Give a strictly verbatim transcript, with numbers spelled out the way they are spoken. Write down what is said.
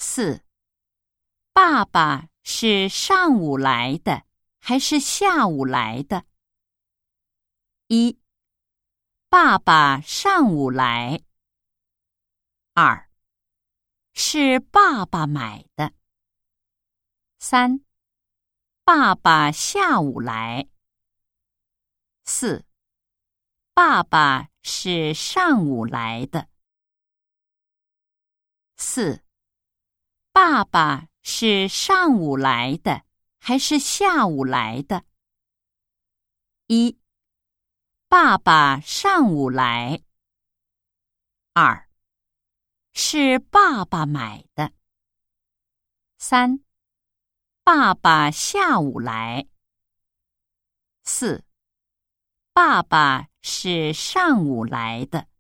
四，爸爸是上午来的还是下午来的？一，爸爸上午来。二，是爸爸买的。三，爸爸下午来。四，爸爸是上午来的。四，爸爸是上午来的还是下午来的？一，爸爸上午来。二，是爸爸买的。三，爸爸下午来。四，爸爸是上午来的。